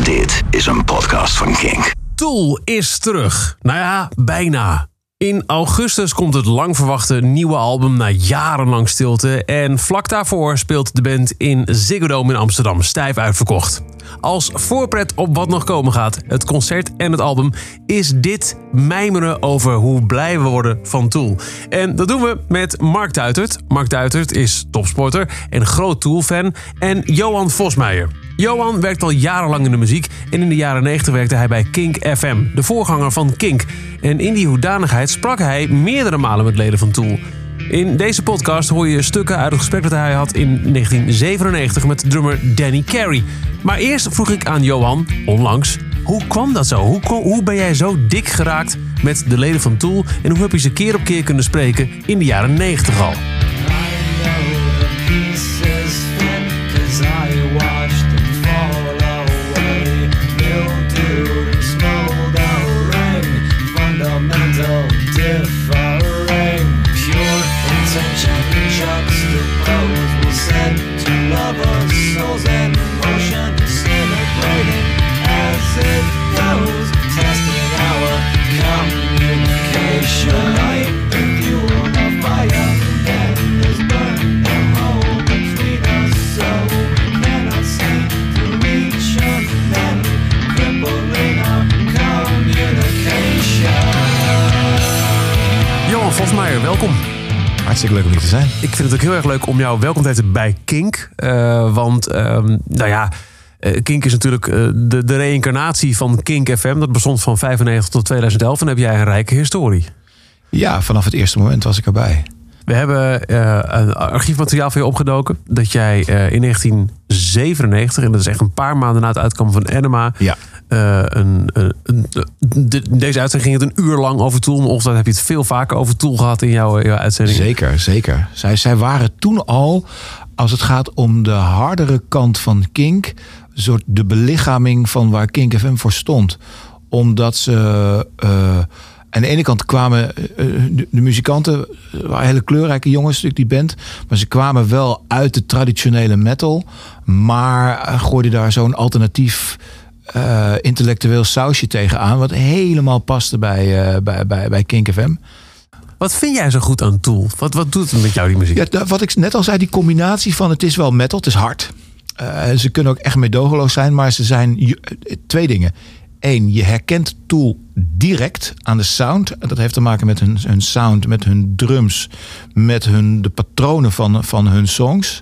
Dit is een podcast van Kink. Tool is terug. Nou ja, bijna. In augustus komt het lang verwachte nieuwe album na jarenlang stilte. En vlak daarvoor speelt de band in Ziggo Dome in Amsterdam, stijf uitverkocht. Als voorpret op wat nog komen gaat, het concert en het album, is dit mijmeren over hoe blij we worden van Tool. En dat doen we met Mark Duitert. Mark Duitert is topsporter en groot Tool-fan. En Johan Vosmeijer. Johan werkt al jarenlang in de muziek en in de jaren 90 werkte hij bij Kink FM, de voorganger van Kink. En in die hoedanigheid sprak hij meerdere malen met leden van Tool. In deze podcast hoor je stukken uit het gesprek dat hij had in 1997 met drummer Danny Carey. Maar eerst vroeg ik aan Johan, onlangs, hoe kwam dat zo? Hoe ben jij zo dik geraakt met de leden van Tool en hoe heb je ze keer op keer kunnen spreken in de jaren 90 al? Vosmeijer, welkom. Hartstikke leuk om hier te zijn. Ik vind het ook heel erg leuk om jou welkom te heten bij Kink. Kink is natuurlijk de reïncarnatie van Kink FM. Dat bestond van 1995 tot 2011 en heb jij een rijke historie. Ja, vanaf het eerste moment was ik erbij. We hebben archiefmateriaal van je opgedoken. Dat jij in 1997, en dat is echt een paar maanden na het uitkomen van Enema... Ja. Deze uitzending ging het een uur lang over Tool. Maar ochtend heb je het veel vaker over Tool gehad in jouw uitzending. Zeker. Zij waren toen al, als het gaat om de hardere kant van Kink, soort de belichaming van waar Kink FM voor stond. Omdat ze aan de ene kant kwamen de muzikanten, waren hele kleurrijke jongens, natuurlijk die band, maar ze kwamen wel uit de traditionele metal, maar gooiden daar zo'n alternatief intellectueel sausje tegenaan, wat helemaal paste bij Kink FM. Wat vind jij zo goed aan Tool? Wat doet het met jou, die muziek? Ja, wat ik net al zei, die combinatie van het is wel metal, het is hard. Ze kunnen ook echt meedogenloos zijn, maar ze zijn twee dingen. Eén, je herkent Tool direct aan de sound. Dat heeft te maken met hun sound, met hun drums, met de patronen van hun songs.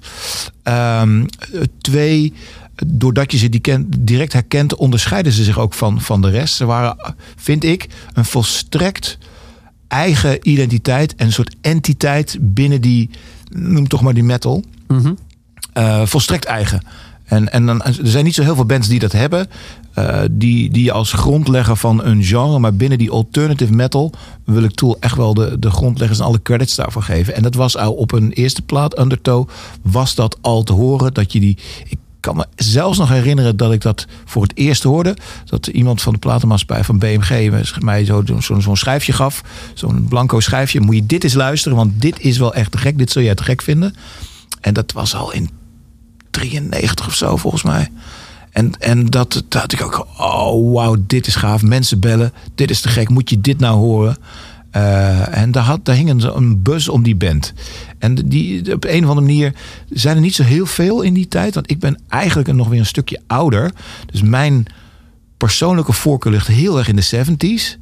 Twee, doordat je ze direct herkent, onderscheiden ze zich ook van de rest. Ze waren, vind ik, een volstrekt eigen identiteit en een soort entiteit binnen die, noem toch maar die metal. Mm-hmm. Volstrekt eigen. En dan, er zijn niet zo heel veel bands die dat hebben. Die als grondlegger van een genre, maar binnen die alternative metal wil ik Tool echt wel de grondleggers en alle credits daarvoor geven. En dat was al op een eerste plaat, Undertow, was dat al te horen. Dat je ik kan me zelfs nog herinneren dat ik dat voor het eerst hoorde. Dat iemand van de platenmaatschappij van BMG mij zo'n schijfje gaf. Zo'n blanco schijfje. Moet je dit eens luisteren, want dit is wel echt te gek. Dit zul jij te gek vinden. En dat was al in 93 of zo, volgens mij. En dat had ik ook. Oh, wauw, dit is gaaf. Mensen bellen. Dit is te gek. Moet je dit nou horen? En daar hing een buzz om die band. En die op een of andere manier zijn er niet zo heel veel in die tijd. Want ik ben eigenlijk nog weer een stukje ouder. Dus mijn persoonlijke voorkeur ligt heel erg in de 70s.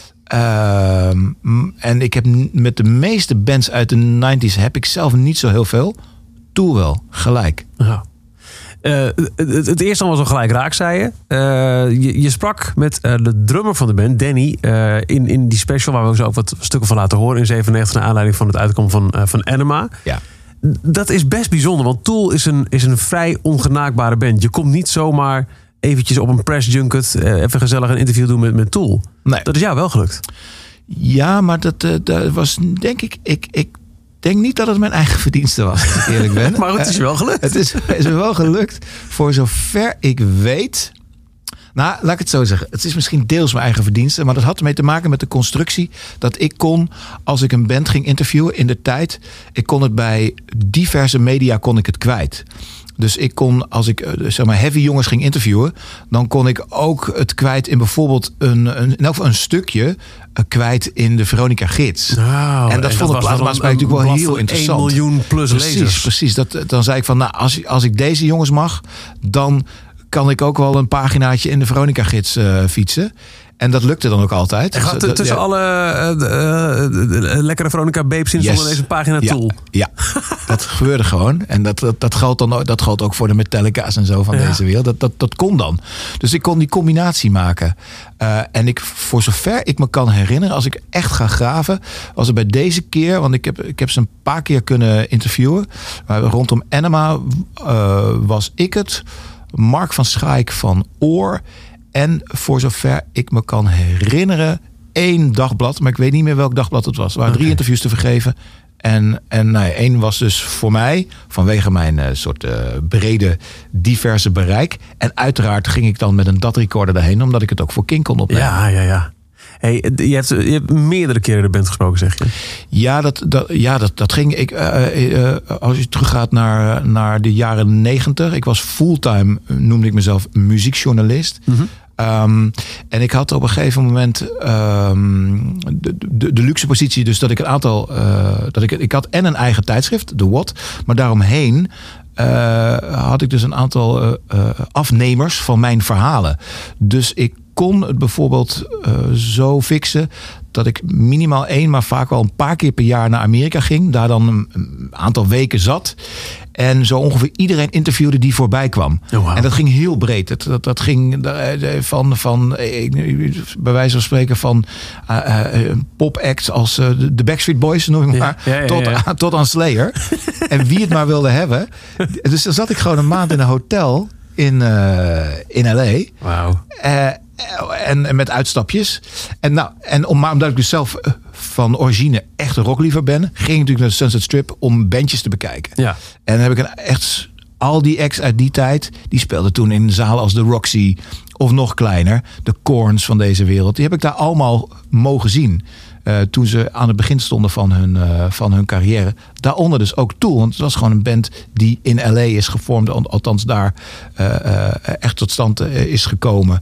En ik heb met de meeste bands uit de 90s heb ik zelf niet zo heel veel. Tool wel, gelijk. Ja. Het eerste was al gelijk raak, zei je. Je sprak met de drummer van de band, Danny, in die special waar we zo ook wat stukken van laten horen in 97 naar aanleiding van het uitkomen van Enema. Ja. Dat is best bijzonder, want Tool is een vrij ongenaakbare band. Je komt niet zomaar eventjes op een press junket even gezellig een interview doen met Tool. Nee. Dat is jou wel gelukt. Ja, maar dat was denk ik denk niet dat het mijn eigen verdienste was, als ik eerlijk ben. Maar het is wel gelukt. Het is wel gelukt. Voor zover ik weet. Nou, laat ik het zo zeggen. Het is misschien deels mijn eigen verdienste. Maar dat had ermee te maken met de constructie. Dat ik kon, als ik een band ging interviewen in de tijd. Ik kon het bij diverse media kon ik het kwijt. Dus ik kon, als ik zeg maar heavy jongens ging interviewen, dan kon ik ook het kwijt in bijvoorbeeld een stukje kwijt in de Veronica Gids. Nou, en dat vond de platenmaatschappij natuurlijk wel heel interessant. 1 miljoen plus lezers. Precies. Dan zei ik van, nou, als ik deze jongens mag, dan kan ik ook wel een paginaatje in de Veronica Gids fietsen. En dat lukte dan ook altijd. En gaat tussen alle lekkere Veronica babes in zonder deze pagina tool. Ja, dat gebeurde gewoon. En dat geldt ook voor de Metallica's en zo van deze wereld. Dat kon dan. Dus ik kon die combinatie maken. En voor zover ik me kan herinneren, als ik echt ga graven, was het bij deze keer, want ik heb ze een paar keer kunnen interviewen. Maar rondom Enema was ik het, Mark van Schaik van Oor. En voor zover ik me kan herinneren, 1 dagblad. Maar ik weet niet meer welk dagblad het was. Er waren 3 interviews te vergeven. En 1 was dus voor mij, vanwege mijn soort brede, diverse bereik. En uiteraard ging ik dan met een DAT-recorder daarheen, omdat ik het ook voor King kon opnemen. Ja. Hey, je hebt meerdere keren de band gesproken, zeg je? Ja, dat ging. Als je teruggaat naar de jaren 90. Ik was fulltime, noemde ik mezelf, muziekjournalist. Mm-hmm. En ik had op een gegeven moment de luxe positie, dus dat ik een aantal, ik had en een eigen tijdschrift, The What, maar daaromheen had ik dus een aantal afnemers van mijn verhalen. Dus ik kon het bijvoorbeeld zo fixen dat ik minimaal 1, maar vaak wel een paar keer per jaar naar Amerika ging. Daar dan een aantal weken zat. En zo ongeveer iedereen interviewde die voorbij kwam. Oh, wow. En dat ging heel breed. Dat ging van bij wijze van spreken van popacts als de Backstreet Boys, noem ik maar, tot aan Slayer. En wie het maar wilde hebben. Dus dan zat ik gewoon een maand in een hotel in L.A. Wauw. En met uitstapjes. Maar omdat ik dus zelf van origine echt een rockliefhebber ben, ging ik natuurlijk naar de Sunset Strip om bandjes te bekijken. Ja. En dan heb ik al die acts uit die tijd, die speelden toen in zalen als de Roxy of nog kleiner, de Korns van deze wereld. Die heb ik daar allemaal mogen zien. Toen ze aan het begin stonden van hun carrière. Daaronder dus ook Tool. Want het was gewoon een band die in L.A. is gevormd. Althans daar echt tot stand is gekomen.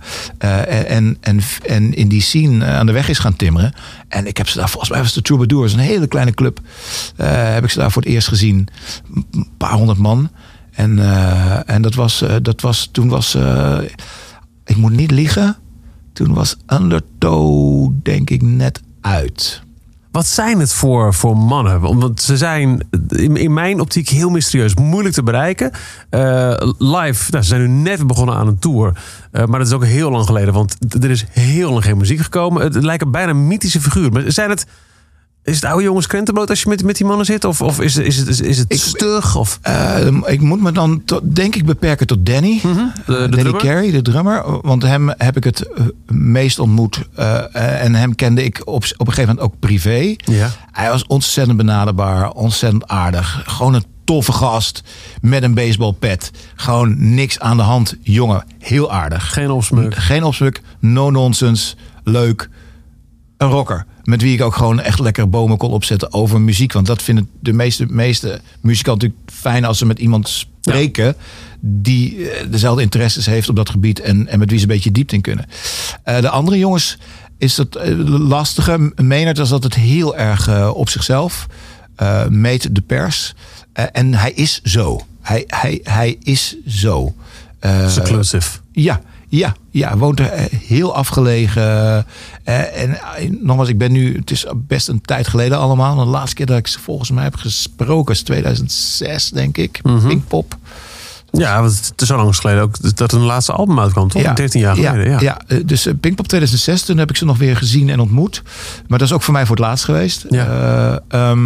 En in die scene aan de weg is gaan timmeren. En ik heb ze daar, volgens mij was de Troubadours, een hele kleine club. Heb ik ze daar voor het eerst gezien. Een paar 100 man. En toen was ik moet niet liegen. Toen was Undertow denk ik net uit. Wat zijn het voor mannen? Want ze zijn in mijn optiek heel mysterieus, moeilijk te bereiken. Live, ze zijn nu net begonnen aan een tour. Maar dat is ook heel lang geleden, want er is heel lang geen muziek gekomen. Het lijken bijna mythische figuren. Maar is het oude jongens krentenbrood als je met die mannen zit? Of is het stug? Of? Ik moet me dan denk ik beperken tot Danny. Mm-hmm. Danny Carey, de drummer. Want hem heb ik het meest ontmoet. En hem kende ik op een gegeven moment ook privé. Ja. Hij was ontzettend benaderbaar. Ontzettend aardig. Gewoon een toffe gast. Met een baseballpet. Gewoon niks aan de hand. Jongen, heel aardig. Geen opsmuk. No nonsense. Leuk. Een rocker. Met wie ik ook gewoon echt lekker bomen kon opzetten over muziek. Want dat vinden de meeste muzikanten natuurlijk fijn als ze met iemand spreken die dezelfde interesses heeft op dat gebied en met wie ze een beetje diepte in kunnen. De andere jongens is dat lastige. Maynard was altijd heel erg op zichzelf. Meet de pers. En hij is zo. Hij is zo. Seclusive. Ja, woont er heel afgelegen. En nogmaals, het is best een tijd geleden allemaal. De laatste keer dat ik ze volgens mij heb gesproken is 2006, denk ik. Mm-hmm. Pinkpop. Ja, het is zo lang geleden ook dat een laatste album uitkwam, toch? 13 jaar geleden. Ja, dus Pinkpop 2006, toen heb ik ze nog weer gezien en ontmoet. Maar dat is ook voor mij voor het laatst geweest. Ja.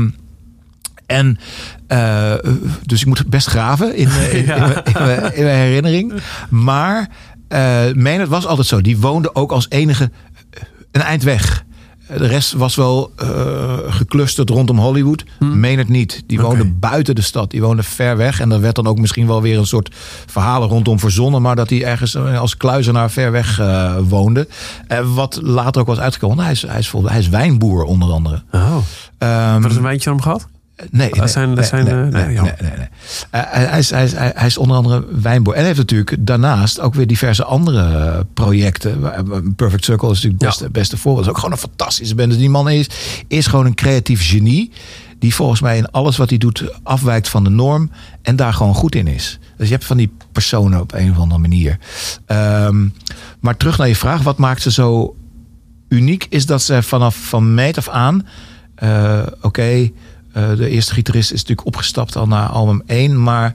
Dus ik moet best graven in mijn herinnering. Maar Maynard was altijd zo. Die woonde ook als enige een eind weg. De rest was wel geclusterd rondom Hollywood. Maynard niet. Die woonde buiten de stad. Die woonde ver weg. En daar werd dan ook misschien wel weer een soort verhalen rondom verzonnen. Maar dat hij ergens als kluizenaar ver weg woonde. Wat later ook was uitgekomen. Hij is wijnboer onder andere. Oh. Wat is een wijntje om gehad? Nee. Hij is onder andere wijnboer. En hij heeft natuurlijk daarnaast ook weer diverse andere projecten. Perfect Circle is natuurlijk het beste voorbeeld. Dat is ook gewoon een fantastische band. Dus die man is gewoon een creatief genie. Die volgens mij in alles wat hij doet afwijkt van de norm. En daar gewoon goed in is. Dus je hebt van die personen op een of andere manier. Maar terug naar je vraag. Wat maakt ze zo uniek? Is dat ze van meet af aan... de eerste gitarist is natuurlijk opgestapt al naar album 1. Maar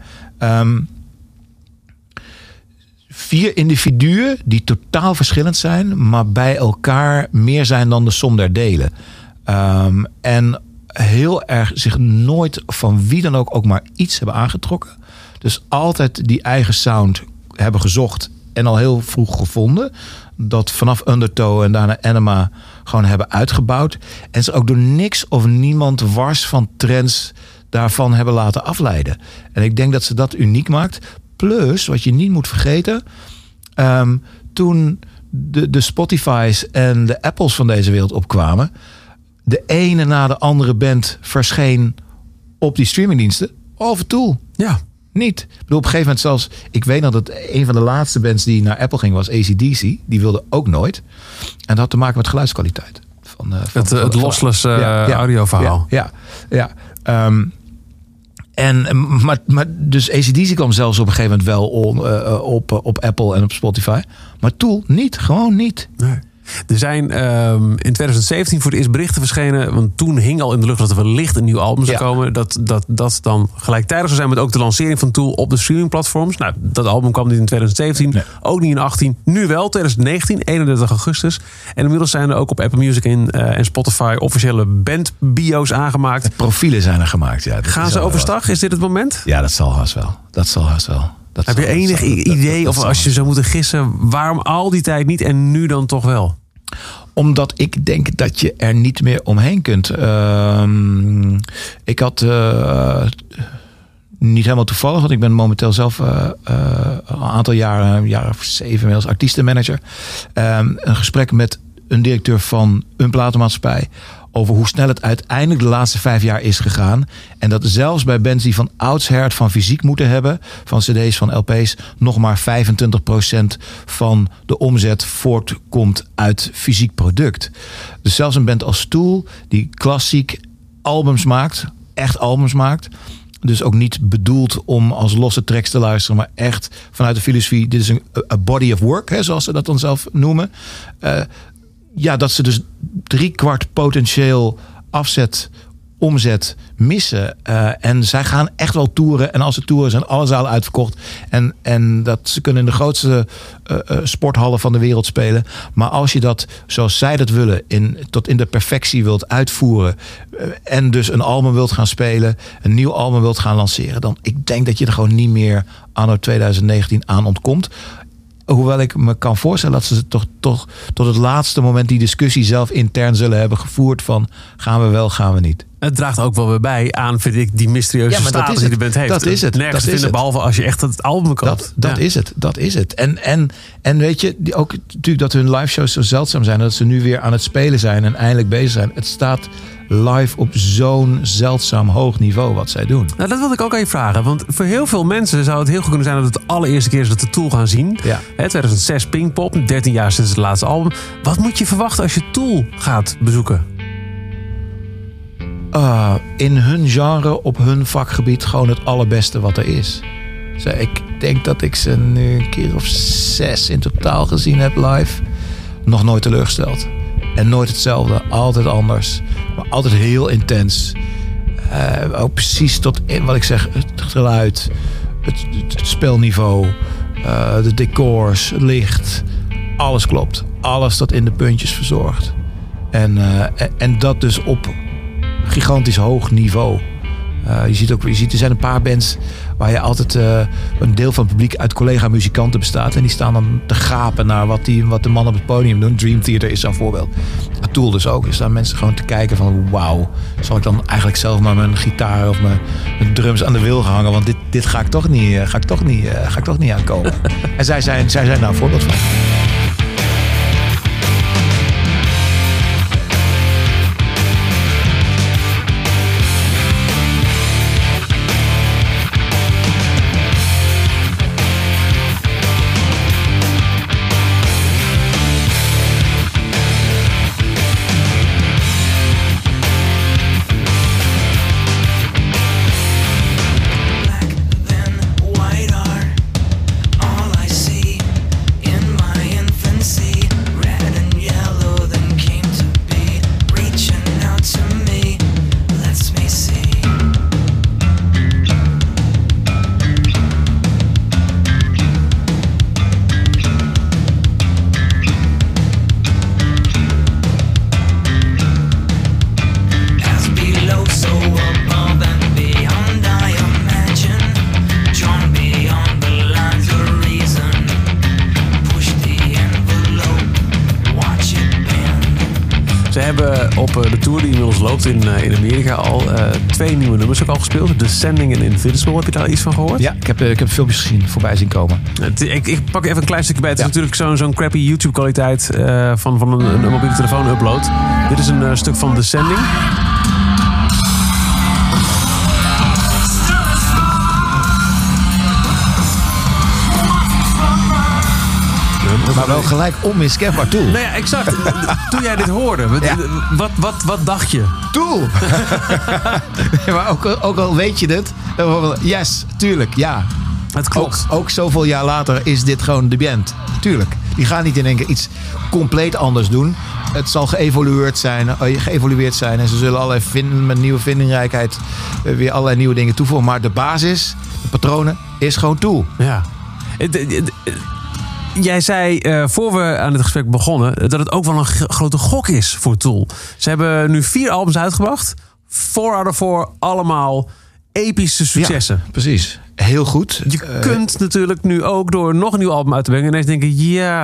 4 individuen die totaal verschillend zijn. Maar bij elkaar meer zijn dan de som der delen. En heel erg zich nooit van wie dan ook maar iets hebben aangetrokken. Dus altijd die eigen sound hebben gezocht. En al heel vroeg gevonden. Dat vanaf Undertow en daarna Enema gewoon hebben uitgebouwd. En ze ook door niks of niemand wars van trends daarvan hebben laten afleiden. En ik denk dat ze dat uniek maakt. Plus, wat je niet moet vergeten. Toen de Spotify's en de Apples van deze wereld opkwamen. De ene na de andere band verscheen op die streamingdiensten. Over Tool. Ja. Niet. Ik bedoel, op een gegeven moment zelfs... Ik weet nog dat een van de laatste bands die naar Apple ging was AC/DC. Die wilde ook nooit. En dat had te maken met geluidskwaliteit. Het lossless audioverhaal. Ja. Maar dus AC/DC kwam zelfs op een gegeven moment wel op Apple en op Spotify. Maar Tool niet. Gewoon niet. Nee. Er zijn in 2017 voor het eerst berichten verschenen. Want toen hing al in de lucht dat er wellicht een nieuw album zou komen. Dat dan gelijktijdig zou zijn met ook de lancering van Tool op de streamingplatforms. Nou, dat album kwam niet in 2017. Nee. Ook niet in 2018. Nu wel, 2019, 31 augustus. En inmiddels zijn er ook op Apple Music en Spotify officiële bandbio's aangemaakt. De profielen zijn er gemaakt, ja. Gaan ze overstag? Is dit het moment? Ja, dat zal haast wel. Heb je enig idee, of als je zou moeten gissen, waarom al die tijd niet en nu dan toch wel? Omdat ik denk dat je er niet meer omheen kunt. Ik had niet helemaal toevallig, want ik ben momenteel zelf een aantal jaren, een jaar of 7 inmiddels, artiestenmanager. Een gesprek met een directeur van een platenmaatschappij over hoe snel het uiteindelijk de laatste 5 jaar is gegaan. En dat zelfs bij bands die van oudsher het van fysiek moeten hebben, van cd's, van LP's, nog maar 25% van de omzet voortkomt uit fysiek product. Dus zelfs een band als Tool, die klassiek albums maakt, echt albums maakt, dus ook niet bedoeld om als losse tracks te luisteren, maar echt vanuit de filosofie, dit is een body of work, hè, zoals ze dat dan zelf noemen. Dat ze dus 3/4 potentieel omzet missen. En zij gaan echt wel toeren. En als ze toeren zijn alle zalen uitverkocht. En dat ze kunnen in de grootste sporthallen van de wereld spelen. Maar als je dat, zoals zij dat willen, tot in de perfectie wilt uitvoeren. En dus een album wilt gaan spelen. Een nieuw album wilt gaan lanceren. Dan ik denk dat je er gewoon niet meer anno 2019 aan ontkomt. Hoewel ik me kan voorstellen dat ze toch tot het laatste moment die discussie zelf intern zullen hebben gevoerd van gaan we wel, gaan we niet. Het draagt ook wel weer bij aan, vind ik, die mysterieuze status die de band heeft. Dat is het. Nergens te vinden, behalve als je echt het album koopt. Dat is het. En weet je, ook natuurlijk dat hun live shows zo zeldzaam zijn, dat ze nu weer aan het spelen zijn en eindelijk bezig zijn. Het staat live op zo'n zeldzaam hoog niveau wat zij doen. Nou, dat wilde ik ook aan je vragen. Want voor heel veel mensen zou het heel goed kunnen zijn dat het de allereerste keer is dat de Tool gaan zien. Ja. 2006 Pinkpop, 13 jaar sinds het laatste album. Wat moet je verwachten als je Tool gaat bezoeken? In hun genre, op hun vakgebied, gewoon het allerbeste wat er is. Ik denk dat ik ze nu een keer of 6 in totaal gezien heb live. Nog nooit teleurgesteld. En nooit hetzelfde, altijd anders. Maar altijd heel intens. Ook precies tot in wat ik zeg, het geluid, het spelniveau, de decors, het licht. Alles klopt. Alles tot in de puntjes verzorgd. En dat dus op gigantisch hoog niveau. Je ziet, er zijn een paar bands waar je altijd een deel van het publiek uit collega-muzikanten bestaat. En die staan dan te gapen naar wat de mannen op het podium doen. Dream Theater is zo'n voorbeeld. Tool dus ook. Er staan mensen gewoon te kijken van wauw. Zal ik dan eigenlijk zelf maar mijn gitaar of mijn drums aan de wil hangen? Want dit ga ik toch niet aankomen. En zij zijn daar een voorbeeld van. hebben op de tour die inmiddels loopt in Amerika al 2 nieuwe nummers ook al gespeeld. Descending en Invincible. Heb je daar iets van gehoord? Ja, ik heb filmpjes gezien, voorbij zien komen. Ik pak even een klein stukje bij. Het is natuurlijk zo'n crappy YouTube kwaliteit van een mobiele telefoon upload. Dit is een stuk van Descending. Maar wel gelijk onmiskenbaar Tool. Nou ja, exact. Toen jij dit hoorde, wat dacht je? Tool! Maar ook al weet je het. Yes, tuurlijk, ja. Het klopt. Ook zoveel jaar later is dit gewoon de band. Tuurlijk. Die gaan niet in één keer iets compleet anders doen. Het zal geëvolueerd zijn. En ze zullen allerlei met nieuwe vindingrijkheid weer allerlei nieuwe dingen toevoegen. Maar de basis, de patronen, is gewoon Tool. Ja. Jij zei, voor we aan het gesprek begonnen, dat het ook wel een grote gok is voor Tool. Ze hebben nu 4 albums uitgebracht. 4 out of 4, allemaal epische successen. Ja, precies. Heel goed. Je kunt natuurlijk nu ook door nog een nieuw album uit te brengen ineens denken,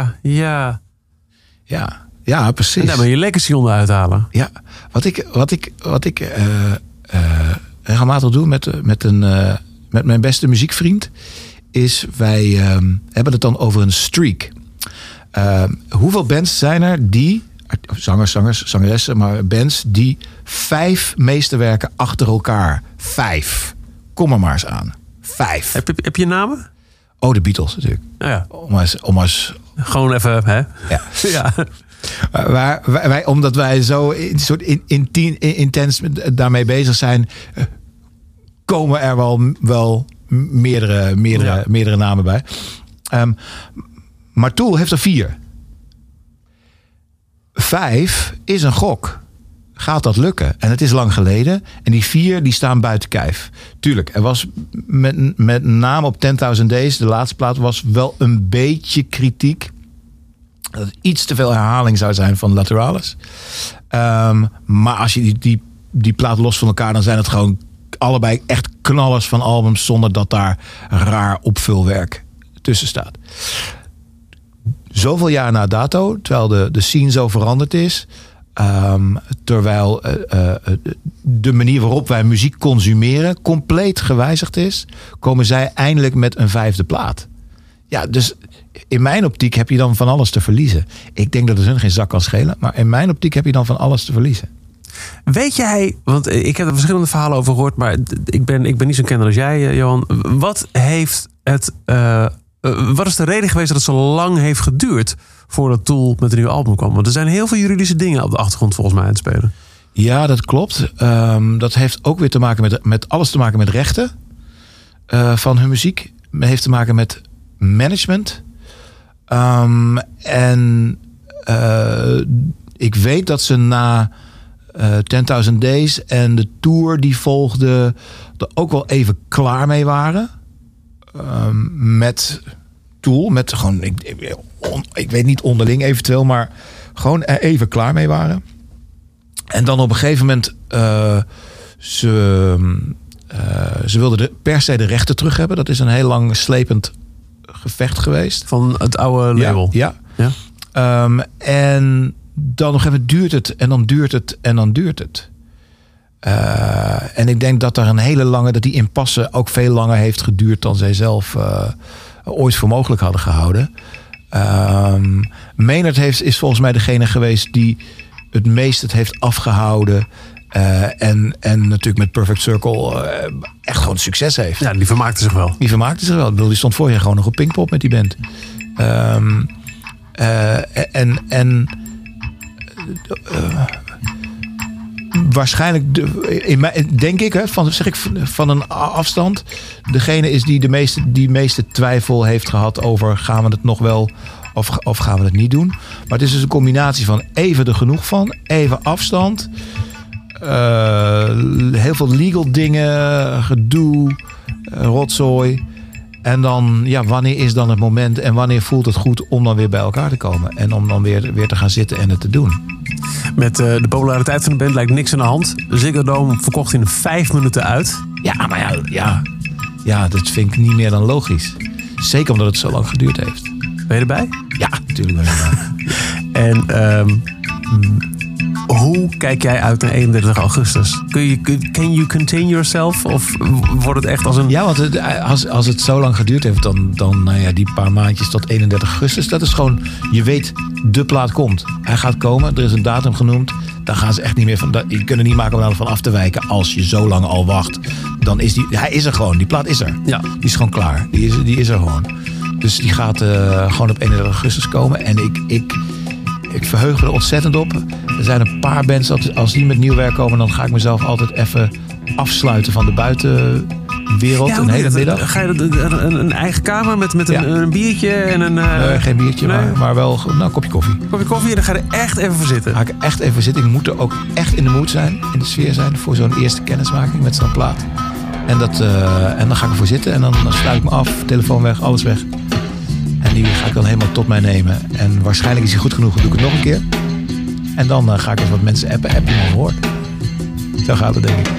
Ja, precies. En daar ben je legacy onder uithalen. Ja, wat ik regelmatig doe met mijn beste muziekvriend, is wij hebben het dan over een streak. Hoeveel bands zijn er die, zangeressen, maar bands die 5 meesterwerken achter elkaar. 5. Kom er maar eens aan. 5. Heb je namen? Oh, de Beatles natuurlijk. Nou ja. Om eens gewoon even, hè? Ja. Ja. Omdat wij zo intens Ja. daarmee bezig zijn, komen er wel meerdere namen bij. Maar Tool heeft er 4. 5 is een gok. Gaat dat lukken? En het is lang geleden. En die 4 die staan buiten kijf. Tuurlijk, er was met name op 10.000 Days, de laatste plaat, was wel een beetje kritiek. Dat het iets te veel herhaling zou zijn van Lateralis. Maar als je die plaat los van elkaar, dan zijn het gewoon allebei echt knallers van albums, zonder dat daar raar opvulwerk tussen staat. Zoveel jaar na dato, terwijl de scene zo veranderd is, terwijl de manier waarop wij muziek consumeren compleet gewijzigd is, komen zij eindelijk met een 5e plaat. Ja, dus in mijn optiek heb je dan van alles te verliezen. Ik denk dat het hun geen zak kan schelen, maar in mijn optiek heb je dan van alles te verliezen. Weet jij, want ik heb er verschillende verhalen over gehoord, maar ik ben niet zo'n kenner als jij, Johan. Wat is de reden geweest dat het zo lang heeft geduurd voordat Tool met een nieuw album kwam? Want er zijn heel veel juridische dingen op de achtergrond volgens mij aan het spelen. Ja, dat klopt. Dat heeft ook weer te maken met alles te maken met rechten van hun muziek. Het heeft te maken met management. Ik weet dat ze na 10.000 Days en de tour die volgde er ook wel even klaar mee waren. Met Tool. Met gewoon, ik weet niet onderling eventueel, maar gewoon er even klaar mee waren. En dan op een gegeven moment ze wilden per se de rechten terug hebben. Dat is een heel lang slepend gevecht geweest. Van het oude label. Ja. En dan nog even duurt het en dan duurt het en dan duurt het. En ik denk dat dat die impasse ook veel langer heeft geduurd dan zij zelf ooit voor mogelijk hadden gehouden. Maynard is volgens mij degene geweest die het meest het heeft afgehouden. En natuurlijk met Perfect Circle echt gewoon succes heeft. Ja, die vermaakte zich wel. Ik bedoel, die stond vorig jaar gewoon nog op Pinkpop met die band. Waarschijnlijk, denk ik, van een afstand, degene is die meeste twijfel heeft gehad over gaan we het nog wel of gaan we het niet doen. Maar het is dus een combinatie van even er genoeg van, even afstand, heel veel legal dingen, gedoe, rotzooi. En dan, wanneer is dan het moment en wanneer voelt het goed om dan weer bij elkaar te komen en om dan weer te gaan zitten en het te doen. Met de populariteit van de band lijkt niks aan de hand. Ziggo Dome verkocht in 5 minuten uit. Ja, maar ja, dat vind ik niet meer dan logisch. Zeker omdat het zo lang geduurd heeft. Ben je erbij? Ja, natuurlijk ben ik erbij. En hoe Hoe kijk jij uit naar 31 augustus? Can you contain yourself? Of wordt het echt als een... Ja, want als het zo lang geduurd heeft, dan nou ja, die paar maandjes tot 31 augustus. Dat is gewoon, je weet, de plaat komt. Hij gaat komen, er is een datum genoemd. Dan gaan ze echt niet meer van... Je kunt er niet maken om ervan af te wijken. Als je zo lang al wacht, dan is hij is er gewoon. Die plaat is er. Ja. Die is gewoon klaar. Die is er gewoon. Dus die gaat gewoon op 31 augustus komen. En ik verheug me er ontzettend op. Er zijn een paar bands, als die met nieuw werk komen, dan ga ik mezelf altijd even afsluiten van de buitenwereld. Een hele middag. Ga je een eigen kamer met een biertje en een... Nee, geen biertje, maar wel een kopje koffie. Kopje koffie en dan ga je er echt even voor zitten. Ga ik echt even zitten. Ik moet er ook echt in de mood zijn, in de sfeer zijn, voor zo'n eerste kennismaking met zo'n plaat. En dan ga ik ervoor zitten en dan sluit ik me af, telefoon weg, alles weg. En die ga ik dan helemaal tot mij nemen. En waarschijnlijk is hij goed genoeg, dan doe ik het nog een keer. En dan ga ik eens wat mensen appen. Heb je hem al gehoord? Zo gaat het, denk ik.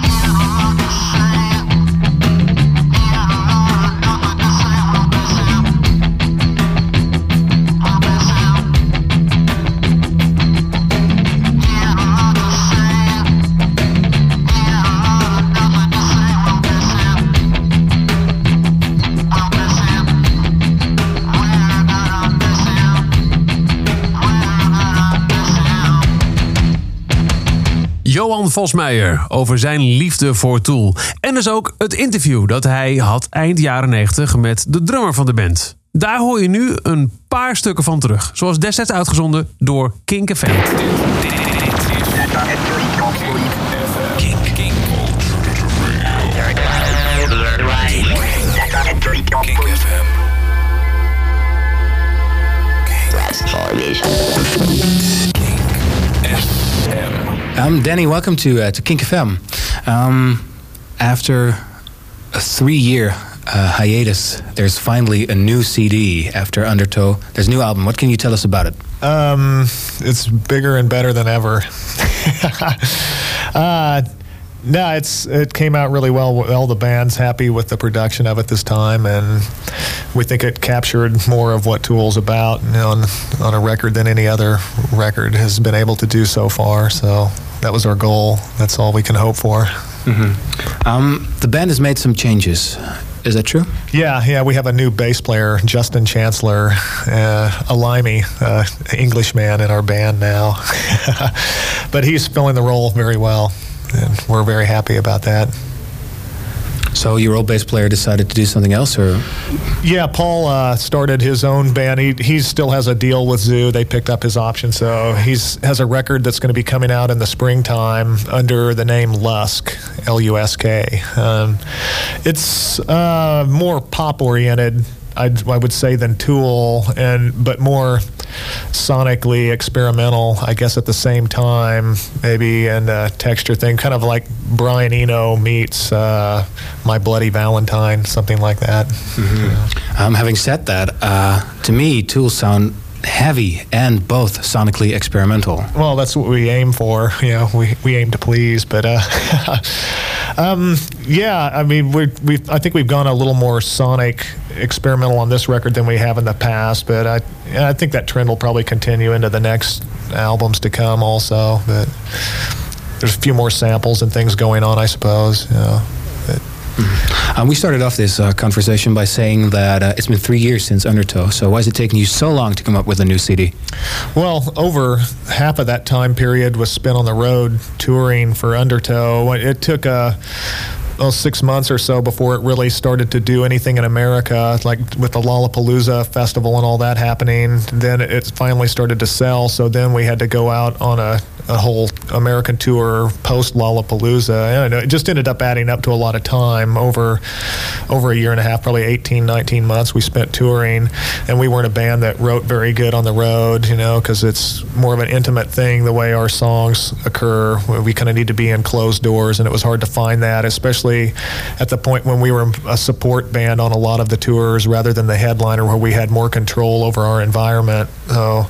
Johan Vosmeijer over zijn liefde voor Tool. En dus ook het interview dat hij had eind jaren 90 met de drummer van de band. Daar hoor je nu een paar stukken van terug. Zoals destijds uitgezonden door Kink FM. Danny, welcome to Kink FM. After a 3-year hiatus, there's finally a new CD after Undertow. There's a new album. What can you tell us about it? It's bigger and better than ever. No, it came out really well. All the band's happy with the production of it this time, and we think it captured more of what Tool's about, on a record than any other record has been able to do so far. So that was our goal. That's all we can hope for. Mm-hmm. The band has made some changes. Is that true? Yeah. We have a new bass player, Justin Chancellor, a limey Englishman in our band now. But he's filling the role very well. And we're very happy about that. So your old bass player decided to do something else, or? Yeah, Paul started his own band. He still has a deal with Zoo. They picked up his option, so he has a record that's going to be coming out in the springtime under the name Lusk, L-U-S-K. It's more pop-oriented, I would say, than Tool, but more sonically experimental, I guess, at the same time, maybe, and a texture thing, kind of like Brian Eno meets My Bloody Valentine, something like that. Mm-hmm. Having said that, to me, Tool sound heavy and both sonically experimental. Well, that's what we aim for. We aim to please, but yeah, I mean, I think we've gone a little more sonic experimental on this record than we have in the past, but I think that trend will probably continue into the next albums to come also. But there's a few more samples and things going on, I suppose. We started off this conversation by saying that it's been 3 years since Undertow. So why is it taking you so long to come up with a new CD? Well, over half of that time period was spent on the road touring for Undertow. It took 6 months or so before it really started to do anything in America, like with the Lollapalooza festival and all that happening. Then it finally started to sell, so then we had to go out on a whole American tour post Lollapalooza. And it just ended up adding up to a lot of time over a year and a half, probably 18, 19 months we spent touring. And we weren't a band that wrote very good on the road, because it's more of an intimate thing the way our songs occur. We kind of need to be in closed doors, and it was hard to find that, especially at the point when we were a support band on a lot of the tours rather than the headliner, where we had more control over our environment. So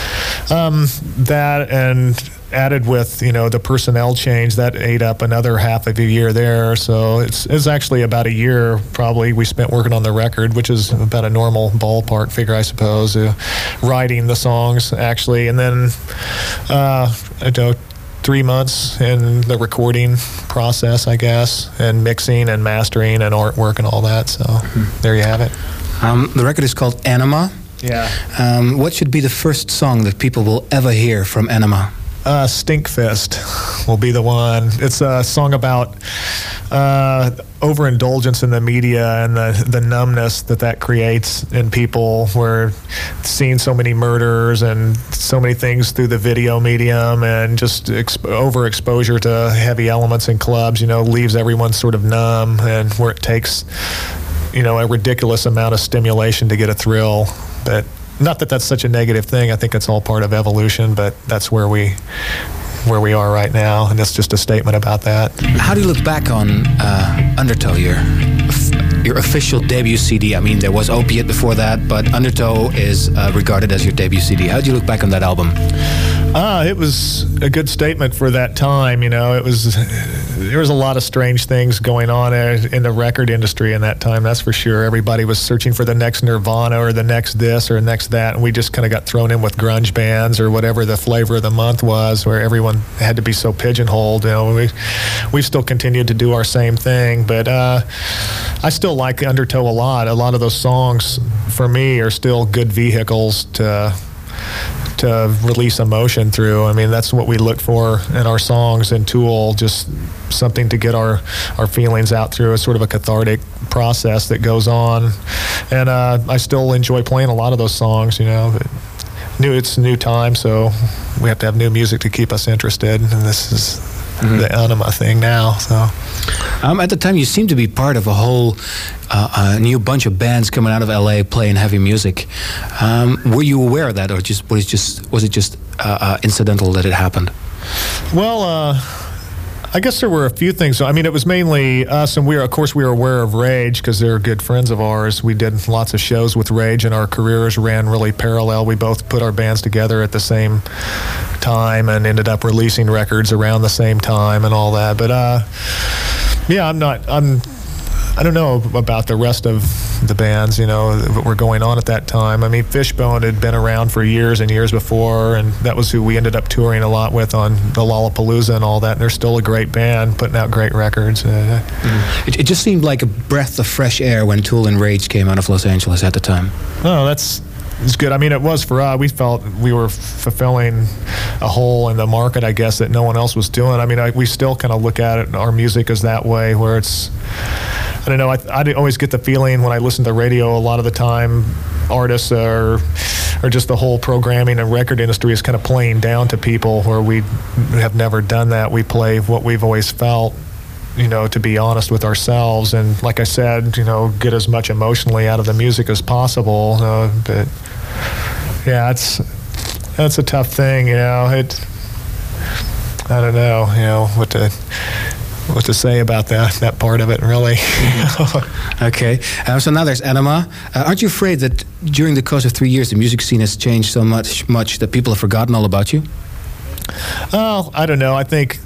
that, and added with the personnel change, that ate up another half of a year there. So it's actually about a year probably we spent working on the record, which is about a normal ballpark figure, I suppose, writing the songs actually. And then 3 months in the recording process, I guess, and mixing and mastering and artwork and all that. So there you have it. The record is called Anima. Yeah. What should be the first song that people will ever hear from Anima? Stinkfist will be the one. It's a song about overindulgence in the media and the numbness that creates in people. We're seeing so many murders and so many things through the video medium, and just overexposure to heavy elements in clubs, leaves everyone sort of numb, and where it takes, a ridiculous amount of stimulation to get a thrill. But not that that's such a negative thing. I think it's all part of evolution, but that's where we are right now, and that's just a statement about that. How do you look back on Undertow, your official debut CD? I mean, there was Opiate before that, but Undertow is regarded as your debut CD. How do you look back on that album? It was a good statement for that time. There was a lot of strange things going on in the record industry in that time, that's for sure. Everybody was searching for the next Nirvana or the next this or next that, and we just kind of got thrown in with grunge bands or whatever the flavor of the month was, where everyone had to be so pigeonholed. We've still continued to do our same thing, but I still like Undertow a lot. A lot of those songs, for me, are still good vehicles to release emotion through. I mean, that's what we look for in our songs, and Tool, just something to get our feelings out through. It's sort of a cathartic process that goes on, and I still enjoy playing a lot of those songs, but it's a new time, so we have to have new music to keep us interested, and this is the Anima thing now. So at the time, you seemed to be part of a whole new bunch of bands coming out of LA playing heavy music. Were you aware of that, or was it just incidental that it happened? Well, I guess there were a few things. I mean, it was mainly us, and we were aware of Rage because they're good friends of ours. We did lots of shows with Rage, and our careers ran really parallel. We both put our bands together at the same time and ended up releasing records around the same time and all that. But yeah, I don't know about the rest of the bands, that were going on at that time. I mean, Fishbone had been around for years and years before, and that was who we ended up touring a lot with on the Lollapalooza and all that. And they're still a great band, putting out great records. It just seemed like a breath of fresh air when Tool and Rage came out of Los Angeles at the time. Oh, it's good. I mean, it was for us. We felt we were fulfilling a hole in the market, I guess, that no one else was doing. I mean, we still kind of look at it, our music is that way, where it's, I don't know, I always get the feeling when I listen to radio a lot of the time, artists or just the whole programming and record industry is kind of playing down to people, where we have never done that. We play what we've always felt, to be honest with ourselves, and like I said, get as much emotionally out of the music as possible. But yeah, that's a tough thing. I don't know, what to say about that part of it, really. Okay, so now there's Anima. Aren't you afraid that during the course of 3 years the music scene has changed so much that people have forgotten all about you? Oh, I don't know. I think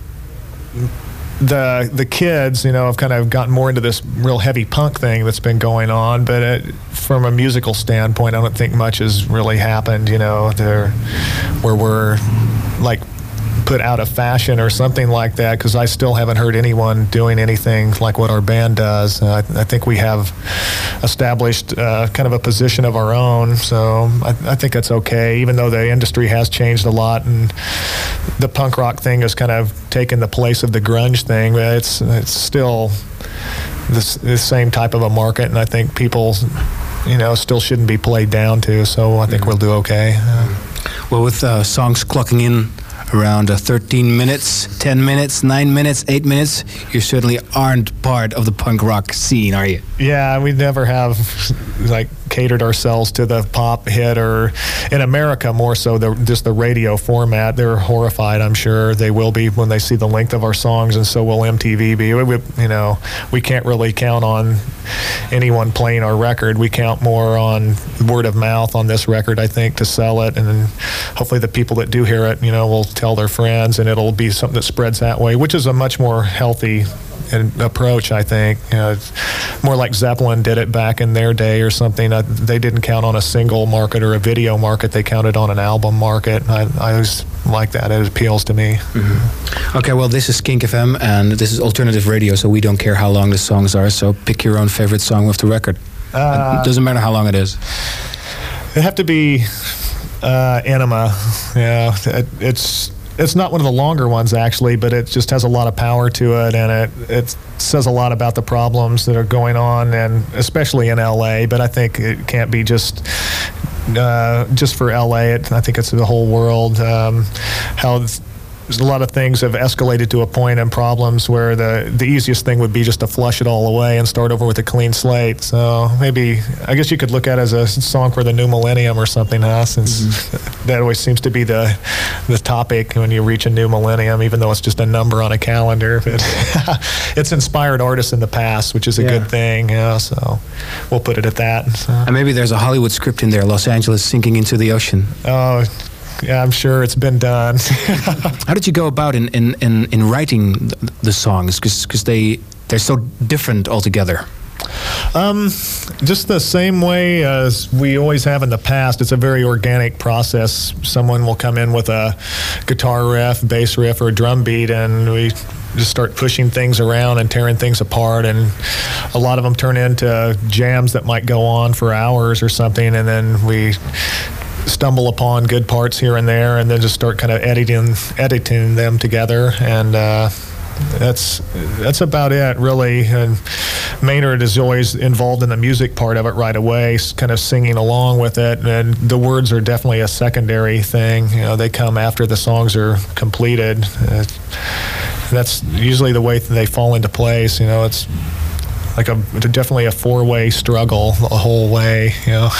the kids, have kind of gotten more into this real heavy punk thing that's been going on, but from a musical standpoint, I don't think much has really happened, where we're like put out of fashion or something like that, because I still haven't heard anyone doing anything like what our band does. I think we have established kind of a position of our own, so I think that's okay, even though the industry has changed a lot and the punk rock thing has kind of taken the place of the grunge thing. It's still the same type of a market, and I think people still shouldn't be played down to, so I think we'll do okay. Well, with songs clocking in around 13 minutes, 10 minutes, 9 minutes, 8 minutes, you certainly aren't part of the punk rock scene, are you? Yeah, we never have catered ourselves to the pop hit, or in America more so just the radio format. They're horrified, I'm sure they will be when they see the length of our songs, and so will MTV be. We can't really count on anyone playing our record. We count more on word of mouth on this record, I think, to sell it, and then hopefully the people that do hear it, will tell their friends, and it'll be something that spreads that way, which is a much more healthy approach, I think. It's more like Zeppelin did it back in their day or something. They didn't count on a single market or a video market. They counted on an album market. I always like that. It appeals to me. Okay, well, this is Kink FM, and this is alternative radio, so we don't care how long the songs are. So pick your own favorite song with the record. It doesn't matter how long it is. It have to be Enema. Yeah, it's not one of the longer ones actually, but it just has a lot of power to it, and it says a lot about the problems that are going on, and especially in LA. But I think it can't be just for LA. I think it's the whole world. How a lot of things have escalated to a point and problems where the easiest thing would be just to flush it all away and start over with a clean slate. So maybe, I guess you could look at it as a song for the new millennium or something, huh? Since that always seems to be the topic when you reach a new millennium, even though it's just a number on a calendar. But it's inspired artists in the past, which is a good thing. Yeah, so we'll put it at that. So. And maybe there's a Hollywood script in there, Los Angeles sinking into the ocean. Oh, yeah, I'm sure it's been done. How did you go about in writing the songs? Because they're so different altogether. Just the same way as we always have in the past. It's a very organic process. Someone will come in with a guitar riff, bass riff, or a drum beat, and we just start pushing things around and tearing things apart, and a lot of them turn into jams that might go on for hours or something, and then we stumble upon good parts here and there, and then just start kind of editing them together, and that's about it, really. And Maynard is always involved in the music part of it right away, kind of singing along with it, and the words are definitely a secondary thing. You know, they come after the songs are completed. That's usually the way they fall into place. You know, it's like definitely a four-way struggle the whole way. You know.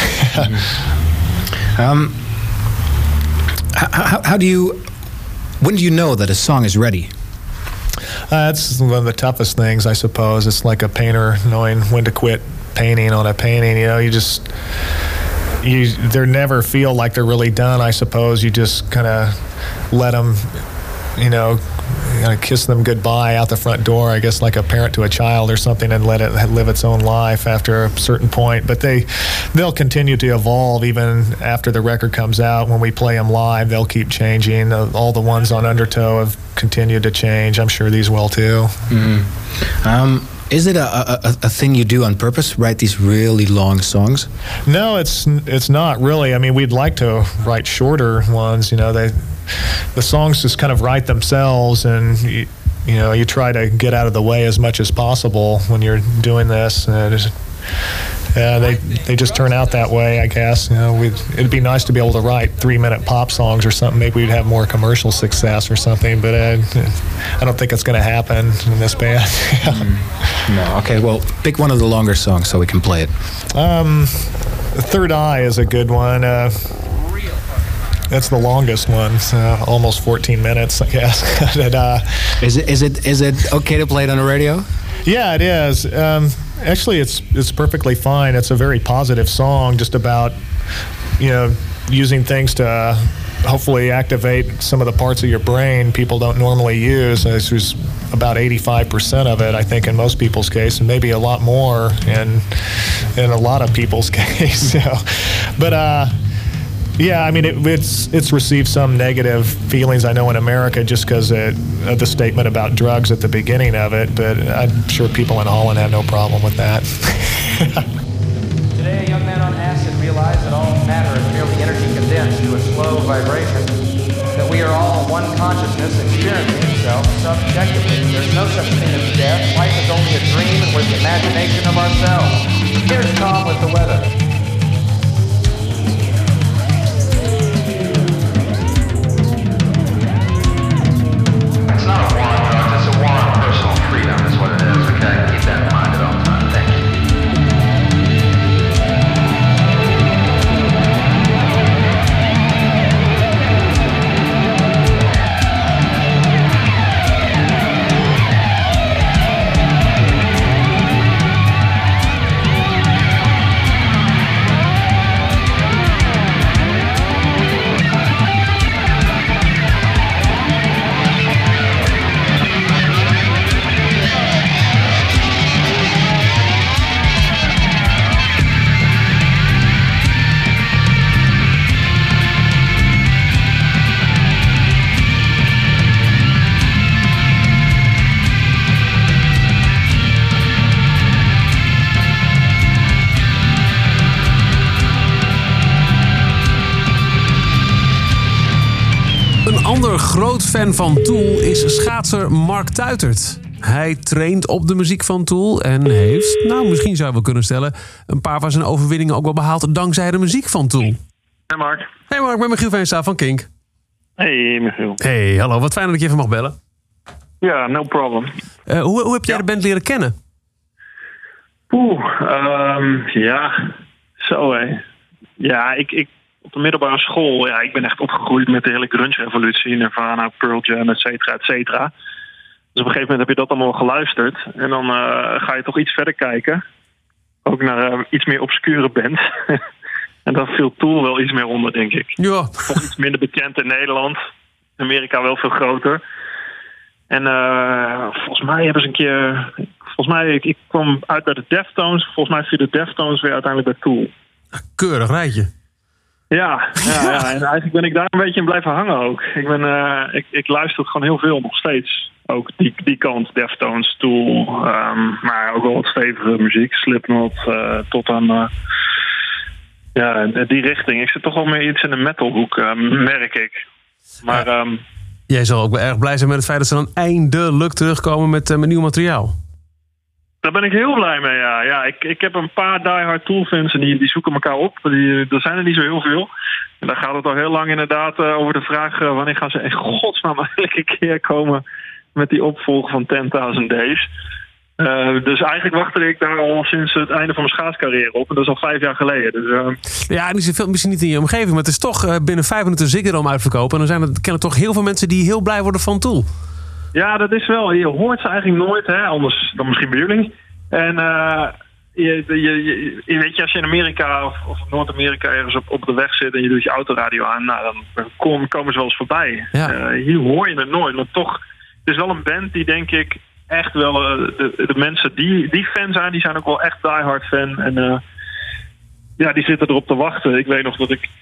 When do you know that a song is ready? That's one of the toughest things, I suppose. It's like a painter knowing when to quit painting on a painting. You know, they never feel like they're really done, I suppose. You just kind of let them, kiss them goodbye out the front door, I guess, like a parent to a child or something, and let it live its own life after a certain point. But they'll continue to evolve even after the record comes out. When we play them live, they'll keep changing. All the ones on Undertow have continued to change. I'm sure these will too. Mm-hmm. Is it a thing you do on purpose, write these really long songs? No, it's not really. I mean, we'd like to write shorter ones. The songs just kind of write themselves, and you try to get out of the way as much as possible when you're doing this. They just turn out that way, I guess. It'd be nice to be able to write 3-minute pop songs or something. Maybe we'd have more commercial success or something, but I don't think it's going to happen in this band. No. Okay, well, pick one of the longer songs so we can play it. Third Eye is a good one. That's the longest one, almost 14 minutes, I guess. Is it okay to play it on the radio? Yeah, it is. Actually, it's perfectly fine. It's a very positive song, just about using things to hopefully activate some of the parts of your brain people don't normally use. There's about 85% of it, I think, in most people's case, and maybe a lot more in a lot of people's case. But yeah, I mean, it's received some negative feelings, I know, in America, just because of the statement about drugs at the beginning of it, but I'm sure people in Holland have no problem with that. Today, a young man on acid realized that all matter is merely energy condensed to a slow vibration, that we are all one consciousness experiencing itself subjectively. There's no such thing as death. Life is only a dream, and we're the imagination of ourselves. Here's Tom with the weather. ander groot fan van Tool is schaatser Mark Tuitert. Hij traint op de muziek van Tool en heeft, misschien zou je wel kunnen stellen, een paar van zijn overwinningen ook wel behaald dankzij de muziek van Tool. Hey Mark. Hey Mark, ik ben Michiel Veenstra van Kink. Hey Michiel. Hey, hallo. Wat fijn dat ik je even mag bellen. Ja, no problem. Hoe heb jij de band leren kennen? Zo hé. Ja, ik op de middelbare school, ik ben echt opgegroeid met de hele grunge-revolutie, Nirvana, Pearl Jam, et cetera, et cetera. Dus op een gegeven moment heb je dat allemaal geluisterd. En dan ga je toch iets verder kijken. Ook naar iets meer obscure bands. En dan viel Tool wel iets meer onder, denk ik. Ja. Toch iets minder bekend in Nederland. In Amerika wel veel groter. En volgens mij hebben ze een keer... ik kwam uit bij de Deftones. Volgens mij viel de Deftones weer uiteindelijk bij Tool. Keurig rijtje. Ja. En eigenlijk ben ik daar een beetje in blijven hangen ook. Ik luister gewoon heel veel nog steeds. Ook die kant, Deftones, Tool. Maar ook wel wat stevige muziek. Slipknot, tot aan... die richting. Ik zit toch wel meer iets in de metalhoek, merk ik. Maar... Jij zal ook wel erg blij zijn met het feit dat ze dan eindelijk terugkomen met nieuw materiaal. Daar ben ik heel blij mee, ja. Ik heb een paar diehard Tool-fans en die zoeken elkaar op. Er zijn er niet zo heel veel. En daar gaat het al heel lang inderdaad over de vraag... wanneer gaan ze in godsnaam elke keer komen met die opvolger van 10.000 Days. Dus eigenlijk wachtte ik daar al sinds het einde van mijn schaatscarrière op. En dat is al 5 jaar geleden. Dus, Ja, die zit misschien niet in je omgeving. Maar het is toch binnen 5 minuten Ziggo Dome uitverkopen. En dan kennen toch heel veel mensen die heel blij worden van Tool. Ja, dat is wel. Je hoort ze eigenlijk nooit, hè? Anders dan misschien bij jullie. En weet je, als je in Amerika of Noord-Amerika ergens op de weg zit en je doet je autoradio aan, dan komen ze wel eens voorbij. Ja. Hier hoor je het nooit. Maar toch, het is wel een band die denk ik echt wel de mensen die fan zijn, die zijn ook wel echt diehard fan. En die zitten erop te wachten. Ik weet nog dat ik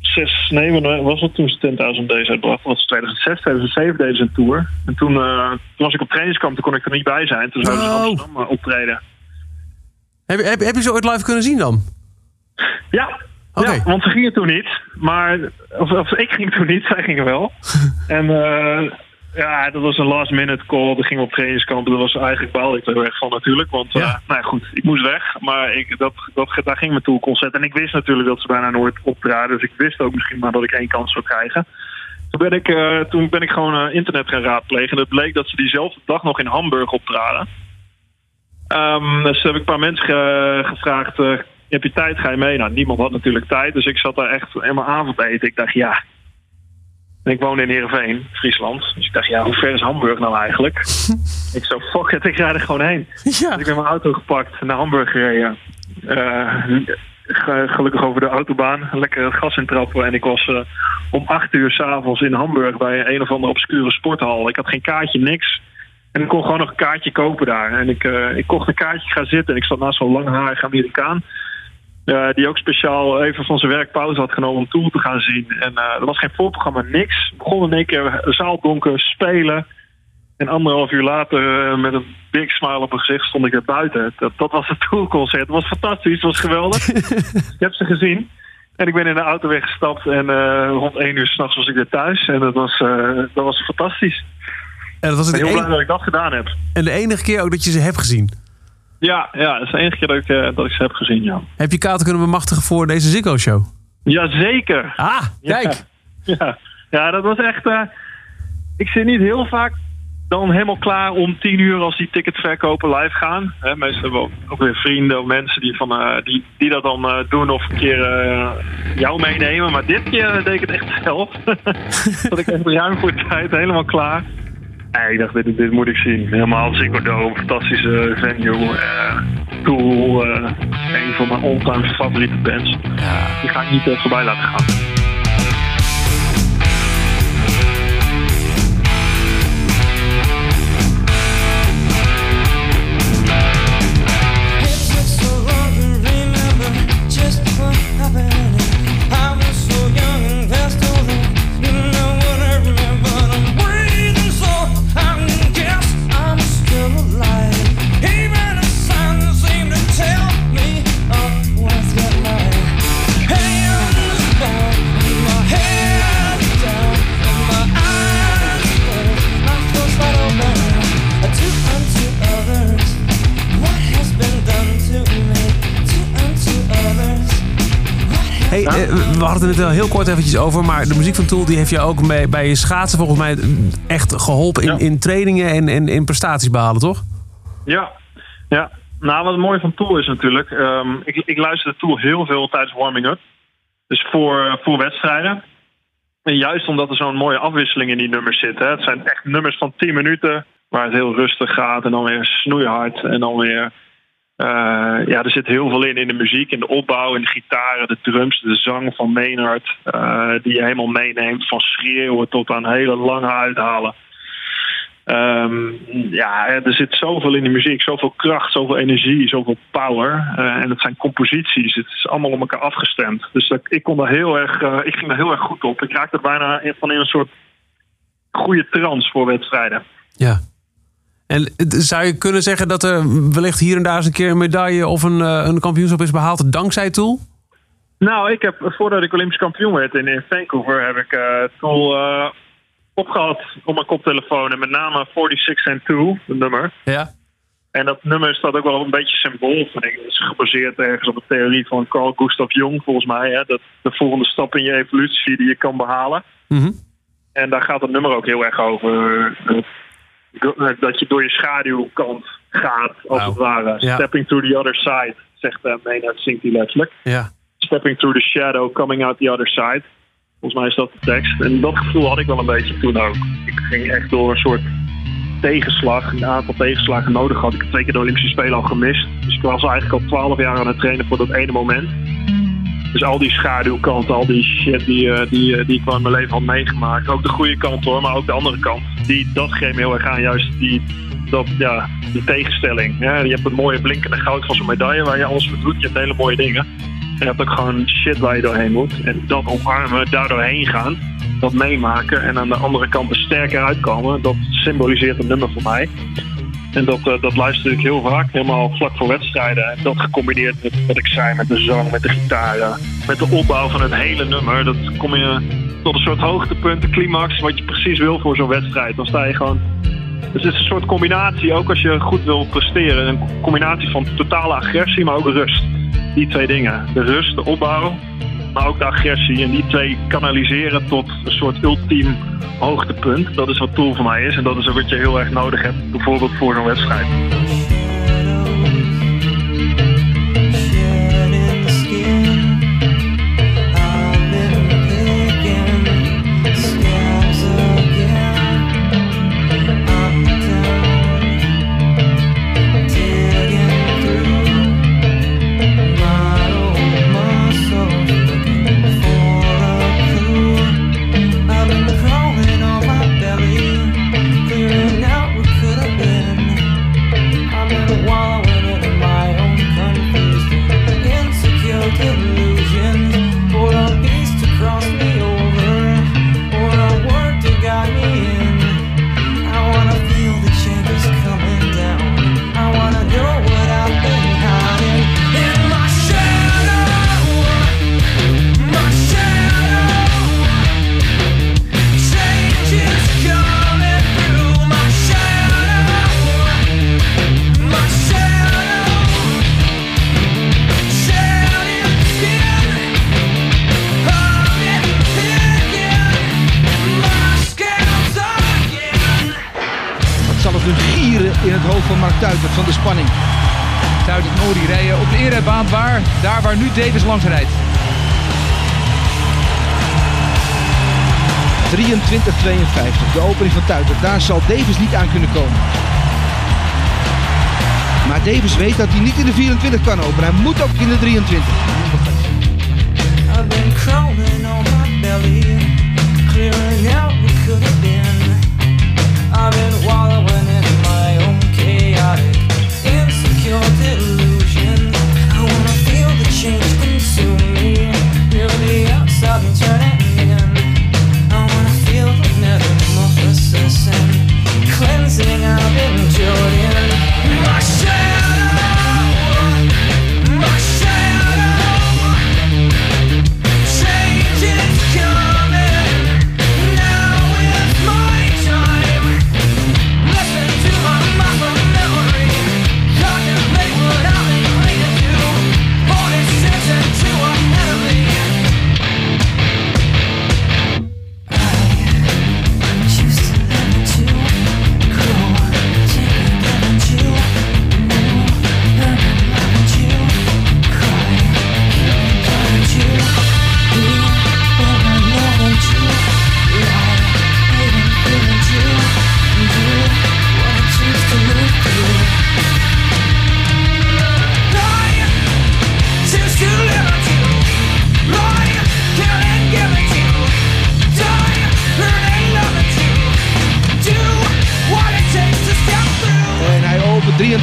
was het toen ze 10.000 Days uitbracht? Dat was 2006, 2007 deden ze een tour. En toen was ik op trainingskamp, toen kon ik er niet bij zijn. Toen zouden ze in Amsterdam optreden. Heb je ze ooit live kunnen zien dan? Ja. Okay. Ja, want ze gingen toen niet. Maar, of ik ging toen niet, zij gingen wel. En dat was een last minute call. We gingen op trainingskamp. Dat was eigenlijk baalde ik er heel erg van natuurlijk. Want goed, ik moest weg. Maar daar ging mijn Tool-concert. En ik wist natuurlijk dat ze bijna nooit optraden. Dus ik wist ook misschien maar dat ik 1 kans zou krijgen. Toen ben ik gewoon internet gaan raadplegen. En het bleek dat ze diezelfde dag nog in Hamburg optraden. Dus heb ik een paar mensen gevraagd... heb je tijd, ga je mee? Nou, niemand had natuurlijk tijd. Dus ik zat daar echt helemaal avondeten. Ik dacht, ja... En ik woonde in Heerenveen, Friesland. Dus ik dacht, hoe ver is Hamburg nou eigenlijk? Ik zo, fuck it, ik rijd er gewoon heen. Ja. Dus ik ben mijn auto gepakt, naar Hamburg gereden. Gelukkig over de autobaan, lekker het gas intrappen. En ik was om 8:00 s'avonds in Hamburg bij een of andere obscure sporthal. Ik had geen kaartje, niks. En ik kon gewoon nog een kaartje kopen daar. En ik kocht een kaartje, ga zitten. En ik zat naast zo'n langharige Amerikaan. Die ook speciaal even van zijn werk pauze had genomen om Tool te gaan zien. En er was geen voorprogramma, niks. We begonnen in één keer zaaldonker, spelen. En 1,5 uur later met een big smile op mijn gezicht stond ik er buiten. Dat was het Tool-concert. Het was fantastisch, het was geweldig. Ik heb ze gezien. En ik ben in de auto weggestapt. En rond 1 uur 's nachts was ik weer thuis. En dat was fantastisch. En dat was ik ben heel blij dat ik dat gedaan heb. En de enige keer ook dat je ze hebt gezien? Ja, dat is de enige keer dat ik ze heb gezien, ja. Heb je kaarten kunnen bemachtigen voor deze Ziggo-show? Jazeker. Ah, kijk. Ja, dat was echt... ik zit niet heel vaak dan helemaal klaar om 10 uur als die ticketverkopen live gaan. Meestal hebben we ook weer vrienden of mensen die dat dan doen of een keer jou meenemen. Maar dit keer deed ik het echt zelf. Dat ik echt ruim voor tijd helemaal klaar. Ik dacht, dit moet ik zien. Helemaal Ziggo Dome, fantastische venue. Tool, een van mijn all-time favoriete bands. Ja. Die ga ik niet voorbij laten gaan. Hey, I'm just born. we hadden het er heel kort eventjes over, maar de muziek van Tool die heeft je ook bij je schaatsen volgens mij echt geholpen in trainingen en in prestaties behalen, toch? Ja. Nou, wat het mooie van Tool is natuurlijk, ik luisterde Tool heel veel tijdens warming-up. Dus voor wedstrijden. En juist omdat er zo'n mooie afwisseling in die nummers zit. Hè. Het zijn echt nummers van 10 minuten waar het heel rustig gaat en dan weer snoeihard en dan weer... er zit heel veel in de muziek, in de opbouw, in de gitaren, de drums, de zang van Maynard, die je helemaal meeneemt, van schreeuwen tot aan hele lange uithalen. Er zit zoveel in de muziek, zoveel kracht, zoveel energie, zoveel power. En het zijn composities, het is allemaal op elkaar afgestemd. Dus ik ging daar heel erg goed op. Ik raakte bijna van in een soort goede trance voor wedstrijden. Ja. En zou je kunnen zeggen dat er wellicht hier en daar eens een keer een medaille of een kampioenschap is behaald dankzij Tool? Nou, ik heb voordat ik Olympisch kampioen werd in Vancouver, heb ik Tool opgehad op mijn koptelefoon. En met name 46 and 2, het nummer. Ja. En dat nummer staat ook wel een beetje symbool, vind ik. Het is gebaseerd ergens op de theorie van Carl Gustav Jung, volgens mij. Hè? Dat de volgende stap in je evolutie die je kan behalen. Mm-hmm. En daar gaat het nummer ook heel erg over. Dat je door je schaduwkant gaat, als het ware. Ja. Stepping through the other side, zegt Maynard, zingt hij letterlijk. Ja. Stepping through the shadow, coming out the other side. Volgens mij is dat de tekst. En dat gevoel had ik wel een beetje toen ook. Ik ging echt door een soort tegenslag, een aantal tegenslagen nodig had. Ik heb 2 keer de Olympische Spelen al gemist. Dus ik was eigenlijk al 12 jaar aan het trainen voor dat ene moment. Dus al die schaduwkanten, al die shit die ik wel in mijn leven had meegemaakt. Ook de goede kant hoor, maar ook de andere kant. Dat greep me heel erg aan. Juist die tegenstelling. Ja, je hebt het mooie blinkende goud van zo'n medaille waar je alles voor doet. Je hebt hele mooie dingen. En je hebt ook gewoon shit waar je doorheen moet. En dat omarmen, daar doorheen gaan. Dat meemaken. En aan de andere kant er sterker uitkomen. Dat symboliseert een nummer voor mij. En dat luister ik heel vaak, helemaal vlak voor wedstrijden. En dat gecombineerd met wat ik zei, met de zang, met de gitaren, met de opbouw van het hele nummer. Dat kom je tot een soort hoogtepunt, de climax, wat je precies wil voor zo'n wedstrijd. Dan sta je gewoon... Dus het is een soort combinatie, ook als je goed wil presteren. Een combinatie van totale agressie, maar ook rust. Die 2 dingen. De rust, de opbouw, maar ook de agressie. En die 2 kanaliseren tot een soort ultiem hoogtepunt. Dat is wat Tool voor mij is. En dat is wat je heel erg nodig hebt. Bijvoorbeeld voor zo'n wedstrijd. Van de spanning. Tuit en Ori rijden op de eerrijbaan waar nu Davis langs rijdt. 23:52, de opening van Tuiter. Daar zal Davis niet aan kunnen komen. Maar Davis weet dat hij niet in de 24 kan openen. Hij moet ook in de 23. I've been crawling on my belly, clearing out what could have been. I've been wallowing in my own chaotic, insecure delusion. I wanna feel the change consume me, feel the outside and turn it in. I wanna feel the metamorphosis and cleansing I've endured in. My shadow, change is coming.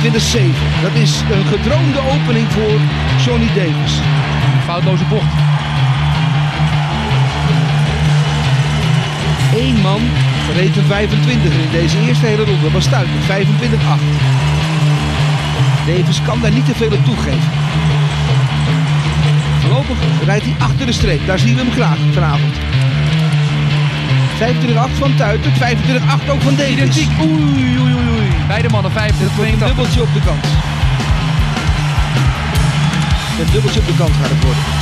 Dat is een gedroomde opening voor Johnny Davis. Foutloze bocht. Eén man reed een 25 in deze eerste hele ronde. Dat was Stuiter, 25-8. Davis kan daar niet te veel op toegeven. Voorlopig rijdt hij achter de streep. Daar zien we hem graag vanavond. 25-8 van Tuiter, 25-8 ook van Davis. Identiek. Oei, oei, oei, oei. Beide mannen 25, Een dubbeltje op de kant. Een dubbeltje op de kant gaat het worden.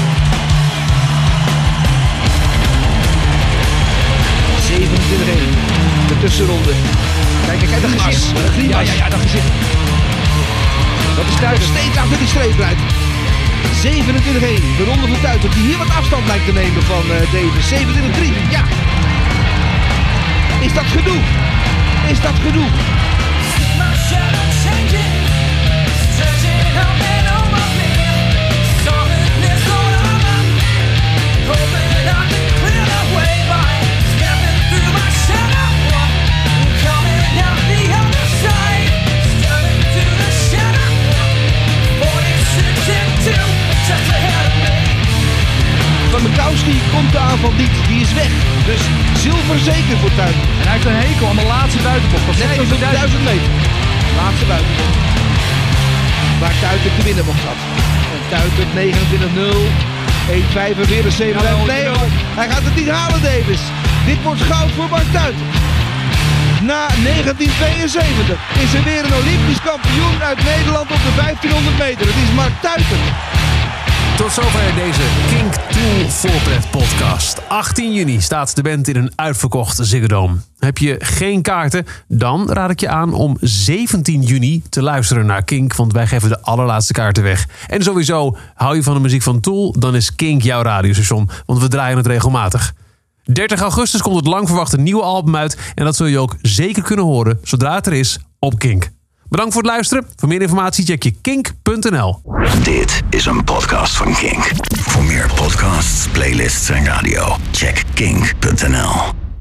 De tussenronde. Kijk, dat gezicht. Ja, dat gezicht. Dat is Nog Tuiter. steeds achter die streep blijft. 27-1. De ronde van Tuiter die hier wat afstand lijkt te nemen van Davis. 27-3. Ja. Is dat genoeg? Is dat genoeg? Van Mikowski komt de aanval niet, die is weg. Dus zilver zeker voor Tuiter. En hij heeft een hekel aan de laatste buitenbocht. Dat zegt Nee, over 1000 meter. Laatste buitenbocht. Waar Tuiter de winnenbocht had. En Tuiter 29-0. 1,45. Nee hoor, hij gaat het niet halen, Davis. Dit wordt goud voor Mark Tuiter. Na 1972 is er weer een Olympisch kampioen uit Nederland op de 1500 meter. Het is Mark Tuiter. Tot zover deze Kink Tool Volpret podcast. 18 juni staat de band in een uitverkocht Ziggo Dome. Heb je geen kaarten? Dan raad ik je aan om 17 juni te luisteren naar Kink, want wij geven de allerlaatste kaarten weg. En sowieso, hou je van de muziek van Tool, dan is Kink jouw radiostation, want we draaien het regelmatig. 30 augustus komt het lang verwachte nieuwe album uit en dat zul je ook zeker kunnen horen zodra het er is op Kink. Bedankt voor het luisteren. Voor meer informatie check je kink.nl. Dit is een podcast van Kink. Voor meer podcasts, playlists en radio, check kink.nl.